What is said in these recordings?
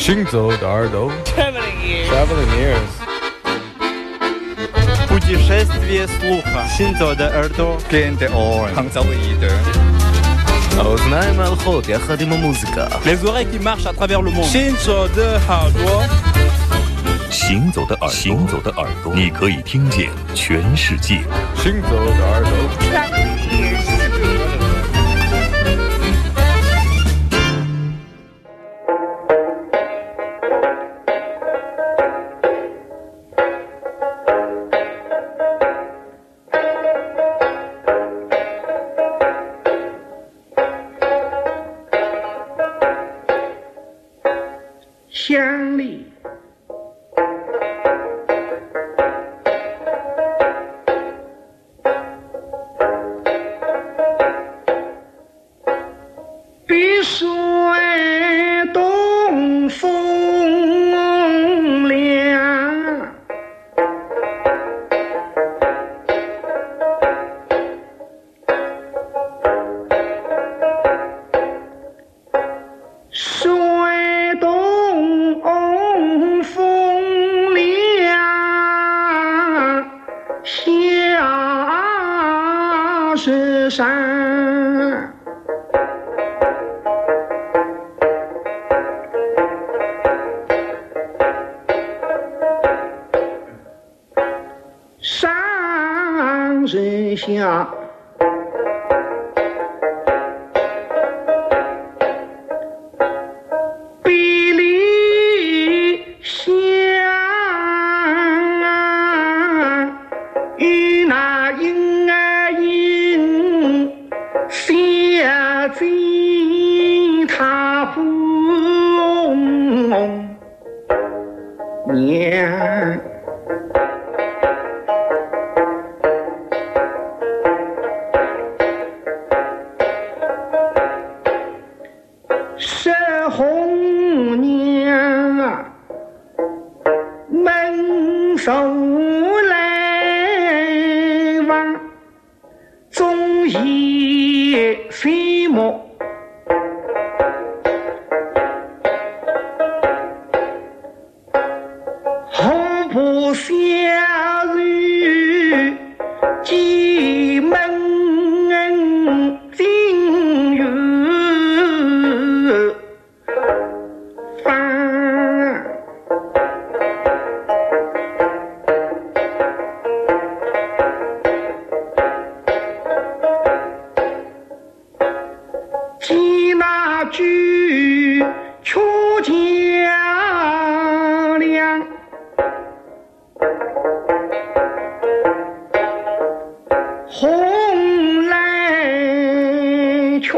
行走的耳朵 Traveling ears. Путешествие слуха. Синзо de耳朵. Cliente oren. Hangzauide. האוזניים ההלכות יחד עם המוזיקה. Les oreilles qui marchent à travers le monde. Shinzo de耳朵。 行走的耳朵，你可以听见全世界。 行走的耳朵。 乡里碧水东风凉，水东风凉，下雪山。上山下，比例相，与那婴儿婴相见他不娘。是红娘啊，门首来往，终夜飞莫。红布下雨，进门进入房。记那句出家良，红来瞧，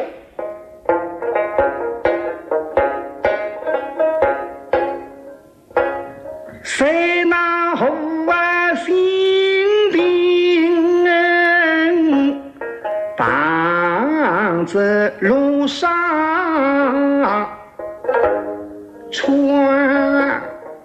谁那后啊心定，当着路上穿。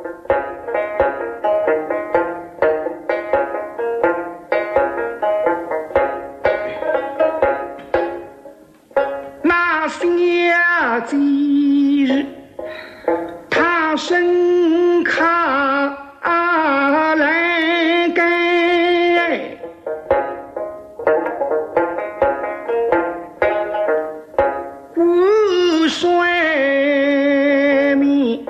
那下几日，他身卡来盖，无水米，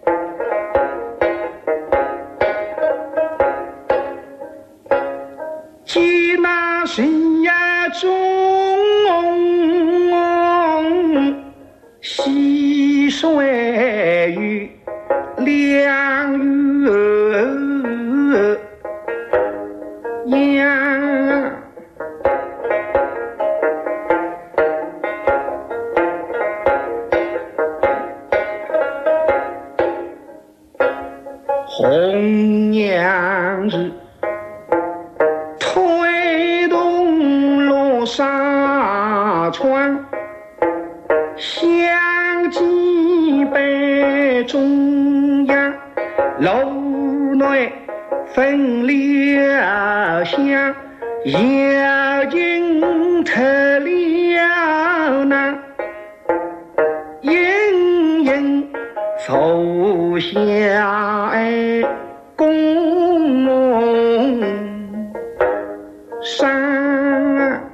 记那深夜中溪水与两月阳。红娘日推动路上穿，相机北中央，楼内分了香，眼睛特了那，隐隐愁下公山，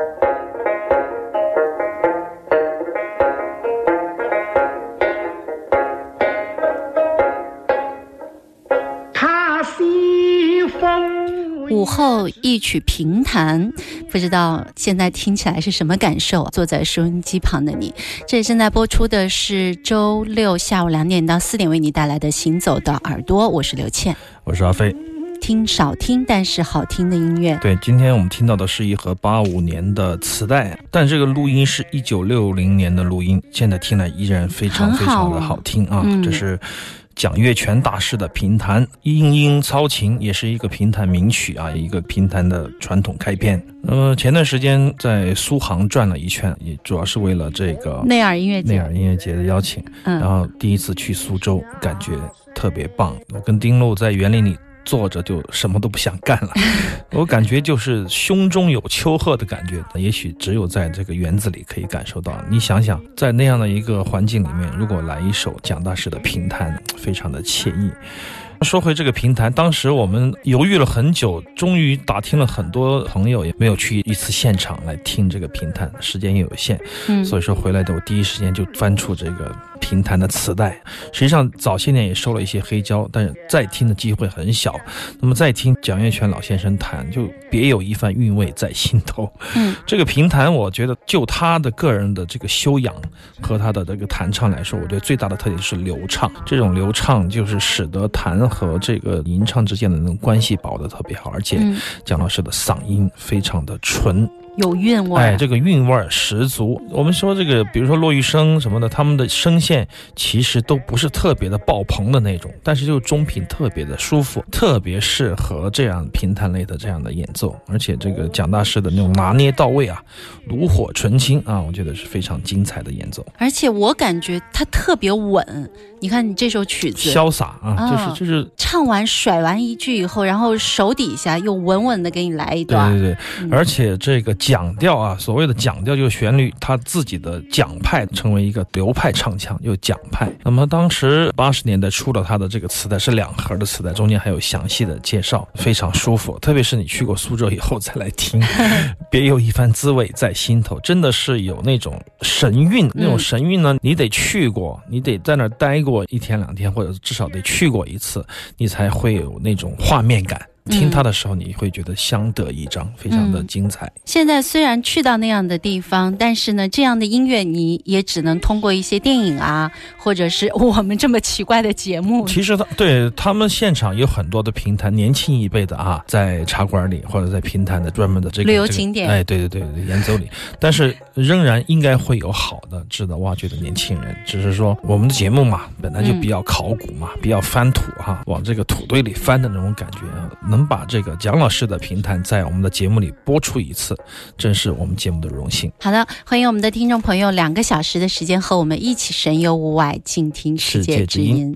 他西风。 午后一曲评弹，不知道现在听起来是什么感受？坐在收音机旁的你，这里正在播出的是周六下午2点到4点为你带来的行走的耳朵，我是刘倩， 我是阿飞。 听少听但是好听的音乐。 对，今天我们听到的是一盒85年的磁带，但这个录音是1960年的录音，现在听来依然非常非常的好听啊！这是蒋月泉大师的评弹，莺莺操琴也是一个评弹名曲啊，一个评弹的传统开篇。前段时间在苏杭转了一圈，也主要是为了这个内尔音乐节的邀请，然后第一次去苏州，感觉特别棒。我跟丁璐在园林里坐着就什么都不想干了，我感觉就是胸中有丘壑的感觉，也许只有在这个园子里可以感受到。你想想，在那样的一个环境里面，如果来一首蒋大师的评弹，非常的惬意。说回这个评弹，当时我们犹豫了很久，终于打听了很多朋友，也没有去一次现场来听这个评弹，时间也有限，所以说回来的我第一时间就翻出这个评弹的磁带。实际上早些年也收了一些黑胶，但是再听的机会很小。那么再听蒋月泉老先生弹，就别有一番韵味在心头。这个评弹，我觉得就他的个人的这个修养和他的这个弹唱来说，我觉得最大的特点是流畅。这种流畅就是使得弹和这个吟唱之间的那种关系把握得特别好，而且蒋老师的嗓音非常的纯， 有韵味， 这个韵味十足。我们说这个，比如说骆玉笙什么的，他们的声线其实都不是特别的爆棚的那种，但是就中频特别的舒服，特别适合这样评弹类的这样的演奏。而且这个蒋大师的那种拿捏到位啊，炉火纯青啊，我觉得是非常精彩的演奏。 而且我感觉他特别稳，你看你这首曲子潇洒啊，就是唱完甩完一句以后，然后手底下又稳稳的给你来一段。 对，而且这个讲调啊，所谓的讲调就是旋律，他自己的蒋派成为一个流派唱腔，就蒋派。那么当时80年代出了他的这个磁带，是2盒的磁带，中间还有详细的介绍，非常舒服。特别是你去过苏州以后再来听，别有一番滋味在心头，真的是有那种神韵。那种神韵呢，你得去过，你得在那儿待过1天2天，或者至少得去过一次，你才会有那种画面感。听他的时候你会觉得相得益彰，非常的精彩。 现在虽然去到那样的地方，但是呢，这样的音乐你也只能通过一些电影啊，或者是我们这么奇怪的节目。 其实他们现场有很多的评弹，年轻一辈的啊，在茶馆里或者在评弹的专门的这个旅游景点， 对演奏里，但是仍然应该会有好的值得挖掘的年轻人。只是说我们的节目嘛，本来就比较考古嘛，比较翻土往这个土堆里翻的那种感觉能把这个蒋老师的评弹在我们的节目里播出一次，真是我们节目的荣幸。 好的，欢迎我们的听众朋友2个小时的时间和我们一起神游物外，静听世界之音。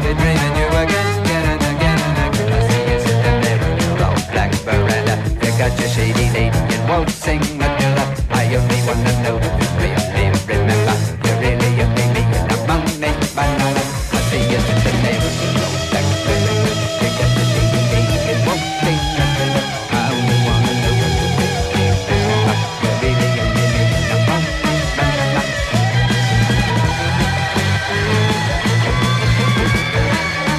be dreaming you again, again and again and again. I see you sitting there on your old black veranda. You got your shady lady and won't sing a tune. I only wanna know if you really remember. You really only me and I'm only banana. I see you sitting there on your old black veranda. You got your shady lady and won't sing a tune. I only wanna know if you really remember. You really only me and I'm only banana.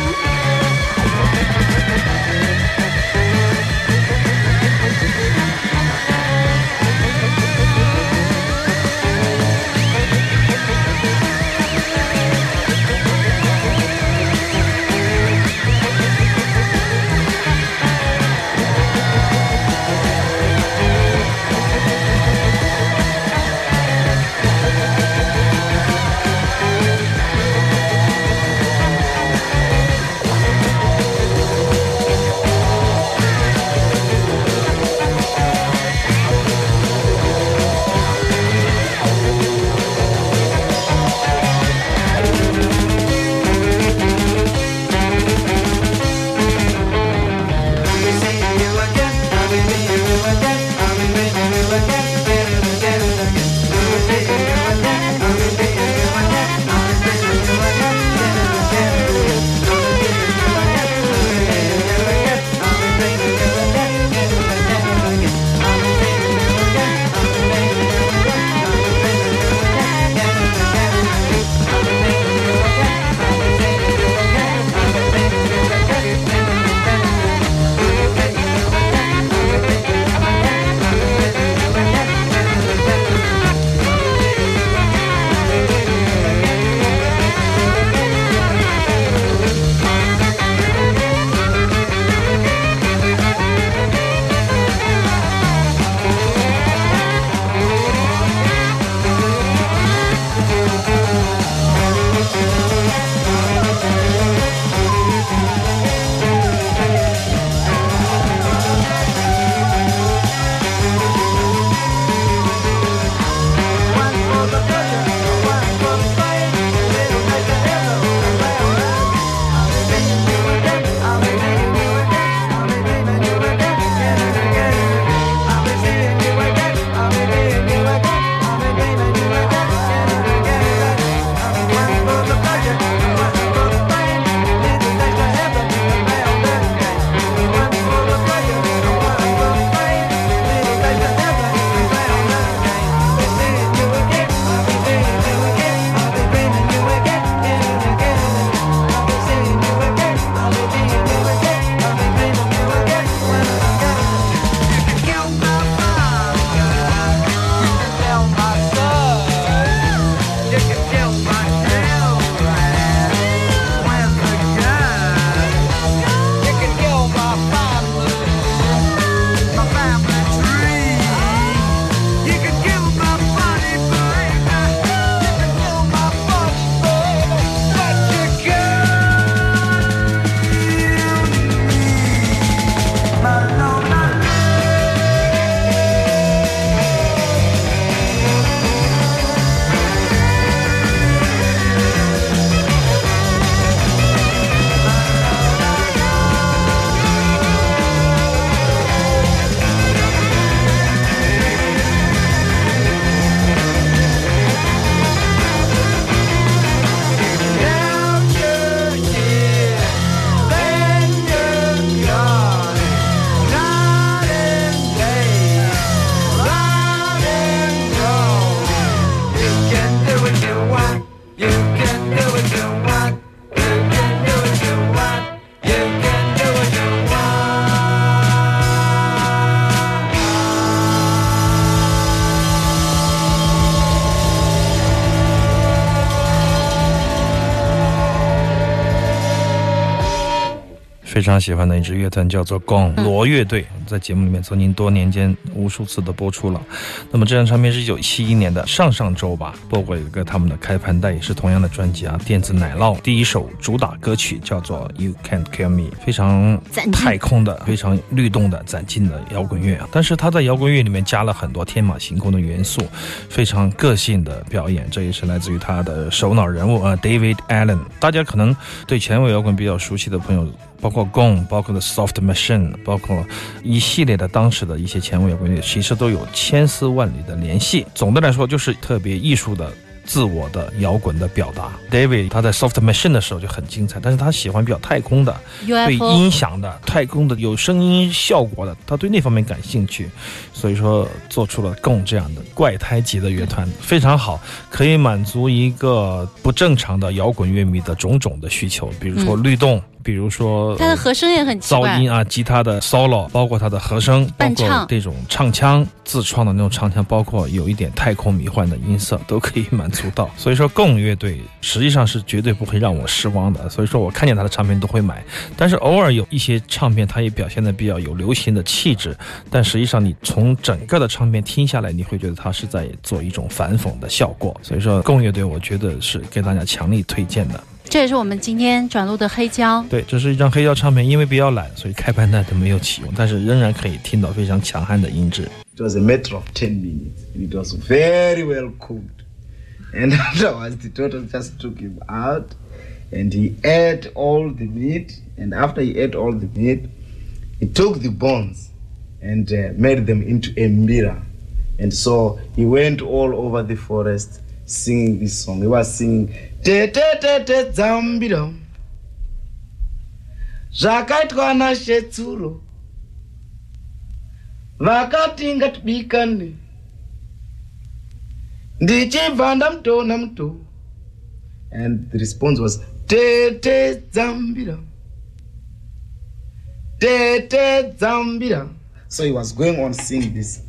非常喜欢的一支乐团叫做 Gong 罗乐队，在节目里面曾经多年间无数次的播出了。那么这张唱片是1971年的，上周吧播过一个他们的开盘带，也是同样的专辑啊，电子奶酪第一首主打歌曲叫做 You Can't Kill Me， 非常太空的非常律动的攒劲的摇滚乐啊，但是他在摇滚乐里面加了很多天马行空的元素，非常个性的表演，这也是来自于他的首脑人物David Allen。 大家可能对前卫摇滚比较熟悉的朋友，包括 Gong， 包括 The Soft Machine， 包括一系列的当时的一些前卫摇滚乐，其实都有千丝万缕的联系。总的来说就是特别艺术的自我的摇滚的表达。 David 他在 Soft Machine 的时候就很精彩，但是他喜欢比较太空的 UFO， 对音响的太空的有声音效果的，他对那方面感兴趣，所以说做出了 Gong 这样的怪胎级的乐团，非常好，可以满足一个不正常的摇滚乐迷的种种的需求，比如说律动，比如说他的和声也很奇怪， 噪音啊，吉他的 solo， 包括他的和声，包括这种唱腔，自创的那种唱腔，包括有一点太空迷幻的音色都可以满足到。所以说 Gong 乐队实际上是绝对不会让我失望的，所以说我看见他的唱片都会买，但是偶尔有一些唱片他也表现的比较有流行的气质，但实际上你从整个的唱片听下来，你会觉得他是在做一种反讽的效果。所以说 Gong 乐队我觉得是给大家强力推荐的。 这也是我们今天转录的黑胶。 对，这是一张黑胶唱片，因为比较懒，所以开盘带都没有启用，但是仍然可以听到非常强悍的音质。 It was a matter of 10 minutes and it was very well cooked, and afterwards the Toto just took him out and he ate all the meat, and after he ate all the meat he took the bones and made them into a mirror, and so he went all over the forest singing this song. He was singing te te te te zambiro zvakaitwa nashetsulo vakati ngatibikane ndichibva ndamutona muto. And the response was te te zambira te te zambira. So he was going on singing this.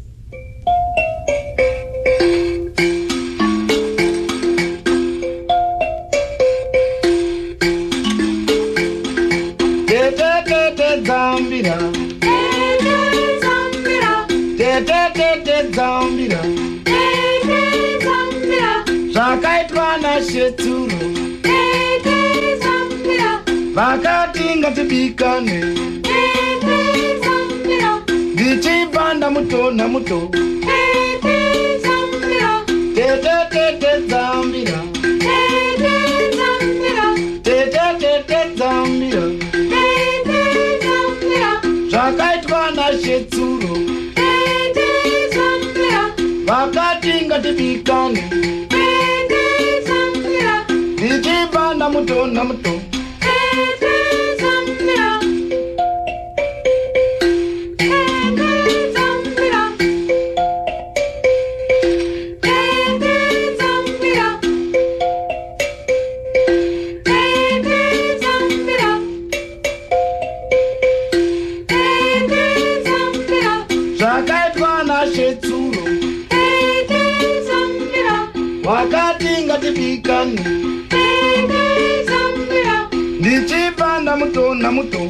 Zambira, Zambira, zvakaitwa nashetsulo vakati ngatibikane ndichibva ndamutona muto. Tete Zambira, tete Zambira, zvakaitwa nashetsulo vakati ngatibikane ndichibva ndamutona muto. Zvakaitwa nashetsulo vakati ngatibikane ndichibva ndamutona muto.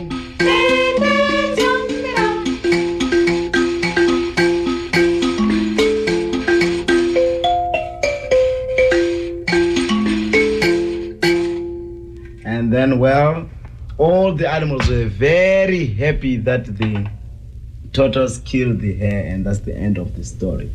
And then, well, all the animals were very happy that the turtles killed the hare, and that's the end of the story.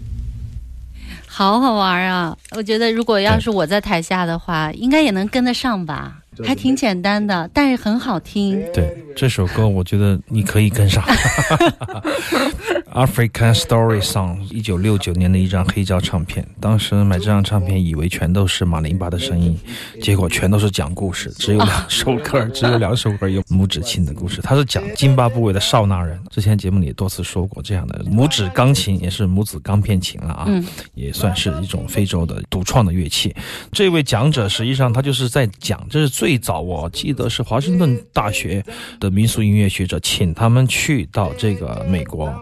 好好玩啊！我觉得如果要是我在台下的话，应该也能跟得上吧，还挺简单的，但是很好听。 对，这首歌我觉得你可以跟上。African Story Song 1969年的一张黑胶唱片，当时买这张唱片以为全都是马林巴的声音，结果全都是讲故事，只有2首歌，只有2首歌有拇指琴的故事。它是讲津巴布韦的少纳人，之前节目里也多次说过，这样的拇指钢琴也是拇指钢片琴了啊，也算是一种非洲的独创的乐器。这位讲者实际上他就是在讲，这是最早我记得是华盛顿大学的民俗音乐学者请他们去到这个美国的大学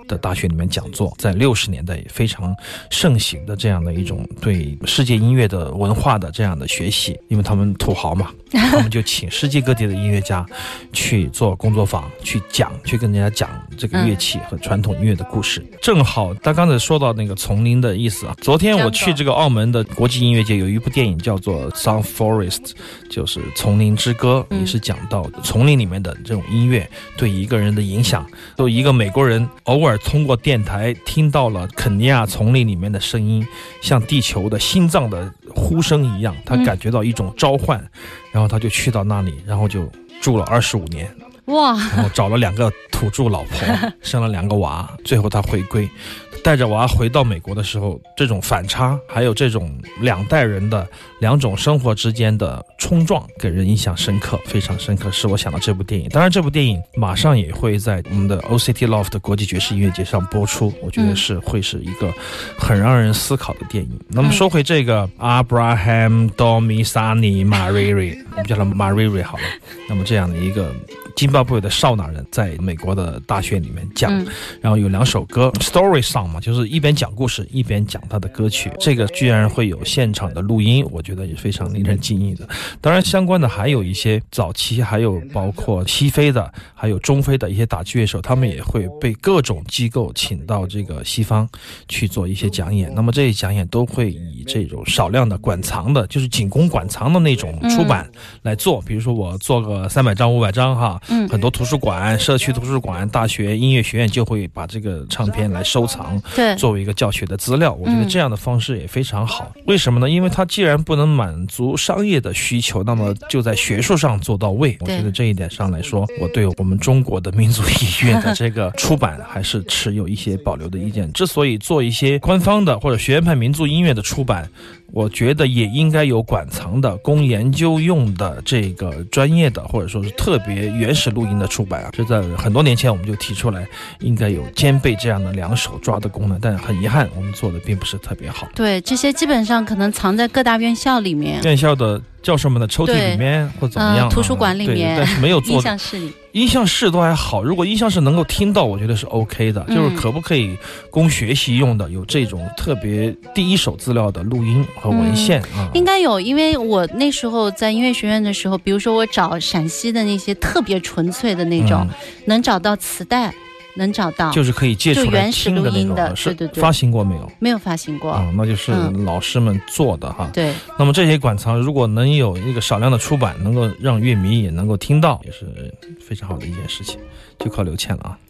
学里面讲座，在60年代非常盛行的这样的一种对世界音乐的文化的这样的学习，因为他们土豪嘛，他们就请世界各地的音乐家去做工作坊，去跟人家讲这个乐器和传统音乐的故事。正好他刚才说到那个丛林的意思啊，昨天我去这个澳门的国际音乐节，有一部电影叫做 Sun Forest， 就是丛林之歌，也是讲到丛林里面的这种音乐对一个人的影响。就一个美国人偶尔通过电台听到了肯尼亚丛林里面的声音，像地球的心脏的呼声一样，他感觉到一种召唤，然后他就去到那里，然后就住了25年。 哇！ 然后找了2个土著老婆，生了2个娃，最后他回归，带着娃回到美国的时候，这种反差，还有这种2代人的2种生活之间的冲撞，给人印象深刻，非常深刻，是我想到这部电影。当然，这部电影马上也会在我们的 OCT Loft 国际爵士音乐节上播出，我觉得会是一个很让人思考的电影。那么说回这个 Abraham Domisani Mariri， 我们叫他 Mariri 好了。那么这样的一个津巴布韦的少纳人在美国的大学里面讲，然后有2首歌 Story Song 嘛，就是一边讲故事一边讲他的歌曲，这个居然会有现场的录音，我觉得也非常令人惊异的。当然相关的还有一些早期，还有包括西非的还有中非的一些打击乐手，他们也会被各种机构请到这个西方去做一些讲演，那么这些讲演都会以这种少量的馆藏的，就是仅供馆藏的那种出版来做，比如说我做个300张500张哈，很多图书馆、社区图书馆、大学音乐学院就会把这个唱片来收藏， 对， 作为一个教学的资料。我觉得这样的方式也非常好。为什么呢？因为它既然不能满足商业的需求，那么就在学术上做到位。我觉得这一点上来说，我对我们中国的民族音乐的这个出版还是持有一些保留的意见。之所以做一些官方的或者学院派民族音乐的出版，我觉得也应该有馆藏的供研究用的这个专业的或者说是特别原始录音的出版啊，这在很多年前我们就提出来应该有兼备这样的2手抓的功能，但很遗憾我们做的并不是特别好。 对，这些基本上可能藏在各大院校里面， 院校的教授们的抽屉里面或怎么样， 图书馆里面， 但是没有做音像室里。 音像室都还好，如果音像室能够听到，我觉得是 OK 的，就是可不可以供学习用的，有这种特别第一手资料的录音和文献应该有。因为我那时候在音乐学院的时候，比如说我找陕西的那些特别纯粹的那种，能找到磁带，能找到， 就是可以借出来听的那种， 对对对， 发行过没有？ 没有发行过那就是老师们做的哈。 对。 那么这些馆藏如果能有一个少量的出版，能够让乐迷也能够听到，也是非常好的一件事情，就靠刘倩了啊。